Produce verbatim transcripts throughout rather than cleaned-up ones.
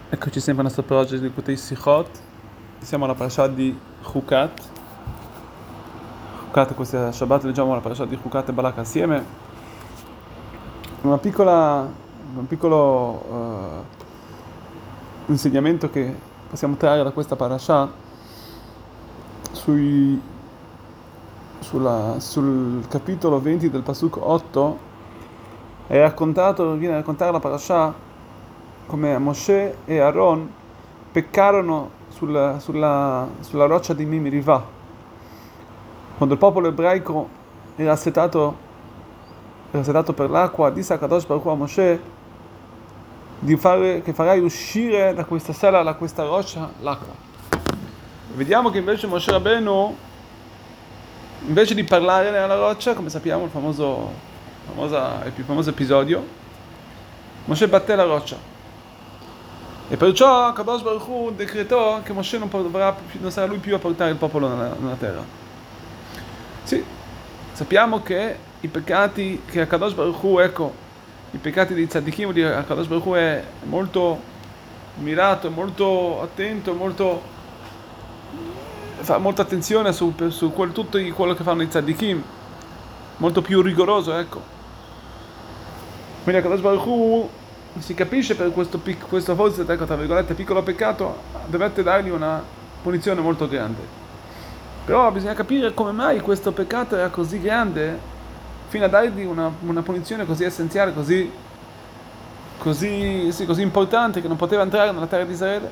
Eccoci sempre al nostro progetto di Kutei Sichot. Siamo alla parasha di Chukat. Chukat, questa Shabbat leggiamo la parasha di Chukat e Balak assieme. Una piccola, un piccolo uh, insegnamento che possiamo trarre da questa parasha sui, sulla, sul capitolo venti del Pasuk otto è raccontato, viene a raccontare la parasha come Moshe e Aaron peccarono sulla, sulla, sulla roccia di Mimiriva. Quando il popolo ebraico era assetato, era assetato per l'acqua, disse a Kadosh Baruch Hu a Moshe di fare, che farai uscire da questa sala, da questa roccia, l'acqua. Vediamo che invece Moshe Rabbeinu, invece di parlare nella roccia, come sappiamo, il famoso, famosa, il più famoso episodio, Moshe batté la roccia. E perciò Kadosh Baruch Hu decretò che Moshe non, dovrà, non sarà lui più a portare il popolo nella, nella terra. Sì, sappiamo che i peccati che a Kadosh Baruch Hu, ecco, i peccati dei tzaddikim, a Kadosh Baruch Hu è molto mirato, molto attento, molto, fa molta attenzione su, su quel, tutto quello che fanno i tzaddikim, molto più rigoroso, ecco. Quindi a Kadosh Baruch Hu si capisce per questo, questo forse, ecco, tra virgolette, piccolo peccato, dovette dargli una punizione molto grande. Però bisogna capire come mai questo peccato era così grande fino a dargli una, una punizione così essenziale, così, così, sì, così importante, che non poteva entrare nella terra di Israele.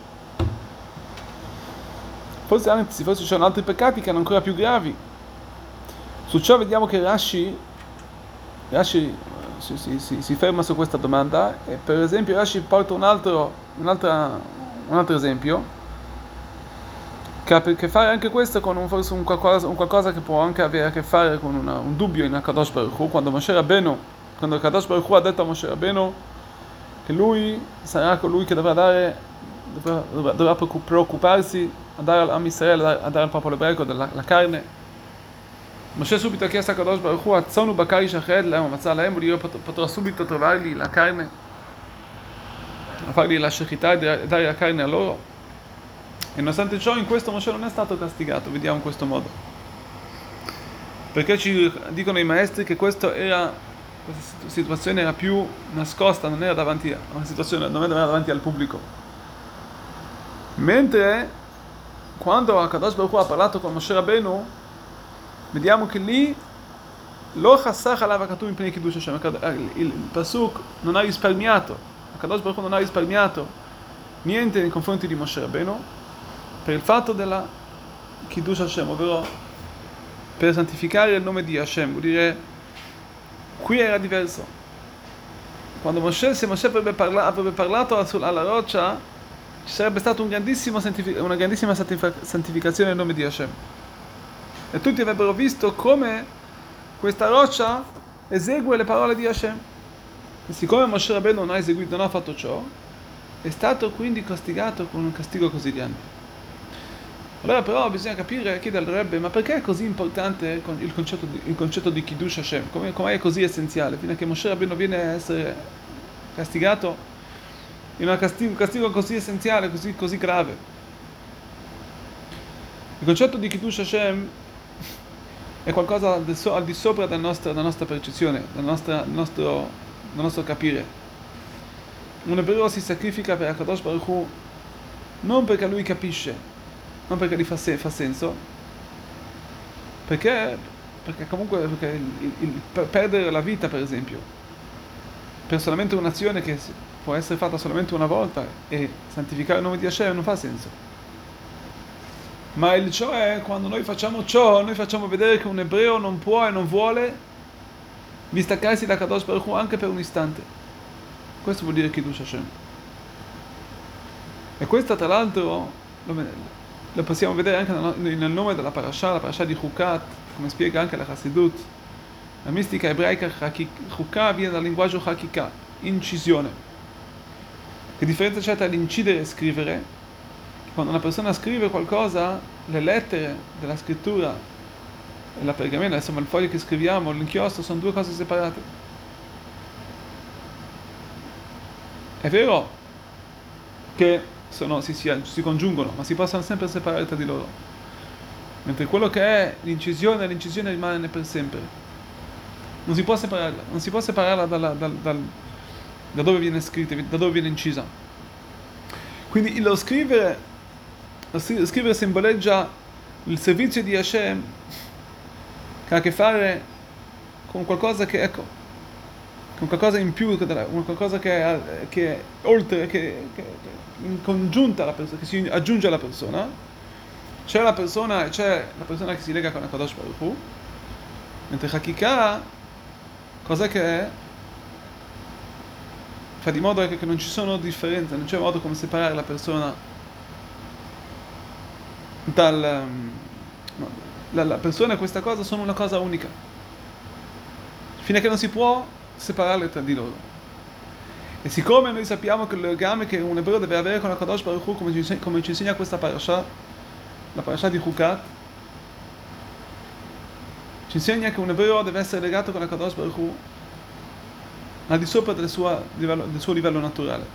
Forse anzi, forse ci sono altri peccati che erano ancora più gravi. Su ciò vediamo che Rashi, Rashi Si, si, si, si ferma su questa domanda e per esempio Rashi porta un altro, un, altra, un altro esempio che ha a che fare anche questo con un, forse un qualcosa, un qualcosa che può anche avere a che fare con una, un dubbio in Kadosh Baruch Hu, quando Moshe Rabbeinu, quando Kadosh Baruch Hu ha detto a Moshe Rabbeinu che lui sarà colui che dovrà dare, dovrà, dovrà preoccuparsi a dare a Israele, a dare al popolo ebraico della la carne. Moshe subito ha chiesto a Kadosh Baruch Hu, Atzonu Bakari Shached Lehem, Matzah Lehem, vuol dire potrà subito trovargli la carne, a fargli la shechità e dare la carne a loro. E nonostante ciò, in questo Moshe non è stato castigato, vediamo in questo modo. Perché ci dicono i maestri che questa era, questa situazione era più nascosta, non era davanti a una situazione, non era davanti al pubblico. Mentre quando Kadosh Baruch Hu ha parlato con Moshe Rabbeinu, vediamo che lì lo chassach alav hakatuv mipnei kiddush Hashem, il pasuk non ha risparmiato, Kadosh Baruch Hu non ha risparmiato niente nei confronti di Moshe Rabbeinu per il fatto della kiddush Hashem, ovvero per santificare il nome di Hashem. Vuol dire, qui era diverso. Quando Moshe, se Moshe avrebbe parlato, avrebbe parlato alla roccia, ci sarebbe stata un grandissimo, una grandissima santificazione del nome di Hashem. E tutti avrebbero visto come questa roccia esegue le parole di Hashem. E siccome Moshe Rabbeinu non ha eseguito, non ha fatto ciò, è stato quindi castigato con un castigo così grande. Allora però bisogna capire, chiede al Rebbe, ma perché è così importante il concetto di, il concetto di Kiddush Hashem? Come, come è così essenziale? Fino a che Moshe Rabbeinu viene a essere castigato in un castigo, un castigo così essenziale, così, così grave. Il concetto di Kiddush Hashem è qualcosa al di sopra della nostra, della nostra percezione, del nostro, nostro, del nostro capire. Un ebreo si sacrifica per Kadosh Baruch Hu non perché lui capisce, non perché gli fa, se, fa senso, perché, perché comunque perché il, il, per perdere la vita, per esempio, per solamente un'azione che può essere fatta solamente una volta e santificare il nome di Hashem non fa senso. Ma il ciò è, quando noi facciamo ciò, noi facciamo vedere che un ebreo non può e non vuole distaccarsi da Kadosh Baruch Hu anche per un istante. Questo vuol dire Kiddush Hashem. E questo tra l'altro lo possiamo vedere anche nel nome della parasha, la parasha di Chukat, come spiega anche la Chassidut. La mistica ebraica Chukat viene dal linguaggio Hakika, incisione. Che differenza c'è tra l'incidere e scrivere? Quando una persona scrive qualcosa, le lettere della scrittura e la pergamena, insomma il foglio che scriviamo, l'inchiostro, sono due cose separate. È vero che sono, si, si, si congiungono, ma si possono sempre separare tra di loro. Mentre quello che è l'incisione, l'incisione rimane per sempre. Non si può separarla, non si può separarla dalla, dal, dal, da dove viene scritta, da dove viene incisa. Quindi lo scrivere, lo scrivere simboleggia il servizio di Hashem che ha a che fare con qualcosa che, ecco, con qualcosa in più, con qualcosa che è, che è oltre, che, che, che in congiunta alla persona, che si aggiunge alla persona. C'è la persona, c'è la persona che si lega con HaKadosh Baruch Hu, mentre Hakika, cos'è che è? Fa di modo che non ci sono differenze, non c'è modo come separare la persona dal... No, la, la persona e questa cosa sono una cosa unica, fino a che non si può separarle tra di loro. E siccome noi sappiamo che il legame che un ebreo deve avere con HaKadosh Baruch Hu, come ci insegna, come ci insegna questa parasha, la parasha di Chukat, ci insegna che un ebreo deve essere legato con HaKadosh Baruch Hu al di sopra del suo livello, del suo livello naturale,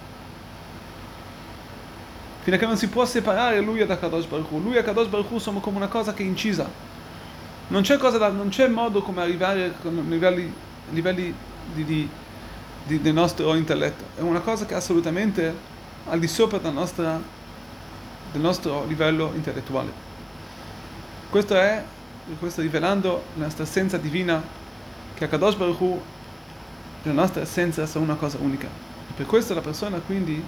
fino a che non si può separare lui da HaKadosh Baruch Hu. Lui e HaKadosh Baruch Hu sono come una cosa che è incisa, non c'è, cosa da, non c'è modo come arrivare a livelli, livelli di, di, di, del nostro intelletto, è una cosa che è assolutamente al di sopra della nostra, del nostro livello intellettuale. Questo è, questo rivelando la nostra essenza divina, che HaKadosh Baruch Hu, la nostra essenza, sono una cosa unica. E per questo la persona quindi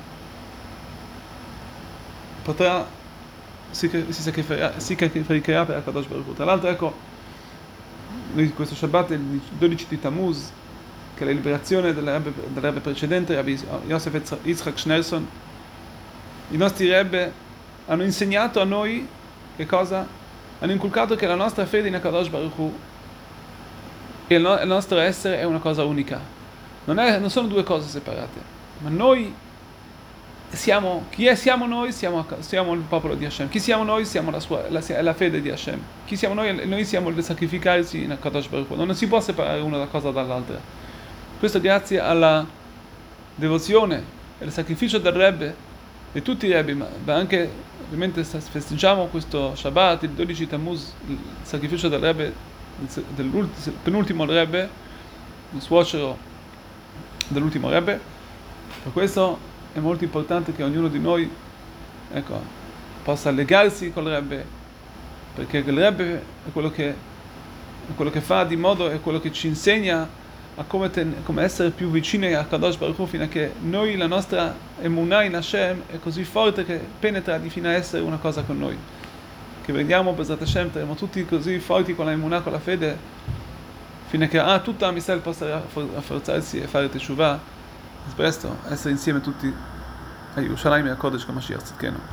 potrà, si, si sacrificherà, si sacrificherà per HaKadosh Baruch Hu. Tra l'altro, ecco, questo Shabbat è il dodici di Tammuz, che è la liberazione del Rebbe, del Rebbe precedente, Rabbi Yosef Yitzchak Schneerson. I nostri Rebbe hanno insegnato a noi che cosa? Hanno inculcato che la nostra fede in HaKadosh Baruch Hu e il, no- il nostro essere è una cosa unica. Non, è, non sono due cose separate, ma noi siamo, chi è, siamo noi? Siamo, siamo il popolo di Hashem. Chi siamo noi? Siamo la, sua, la, la fede di Hashem. Chi siamo noi? Noi siamo il sacrificarsi in HaKadosh Baruch Hu. Non si può separare una cosa dall'altra. Questo grazie alla devozione e al sacrificio del Rebbe, di tutti i Rebbe, ma anche ovviamente festeggiamo questo Shabbat, il dodici Tammuz, il sacrificio del Rebbe, del penultimo Rebbe, il suocero dell'ultimo Rebbe. Per questo è molto importante che ognuno di noi, ecco, possa legarsi col Rebbe, perché il Rebbe è quello che, è quello che fa di modo, è quello che ci insegna a come, ten, come essere più vicini a Kadosh Baruch Hu, fino a che noi, la nostra emunah in Hashem è così forte che penetra di fino a essere una cosa con noi, che vediamo Bezrat Hashem, saremo tutti così forti con la emunah, con la fede, fino a che ah, tutta la Israel possa rafforzarsi e fare teshuvah, presto essere insieme tutti a Yerushalayim e a Kodesh con Mashiach Tzidkenu.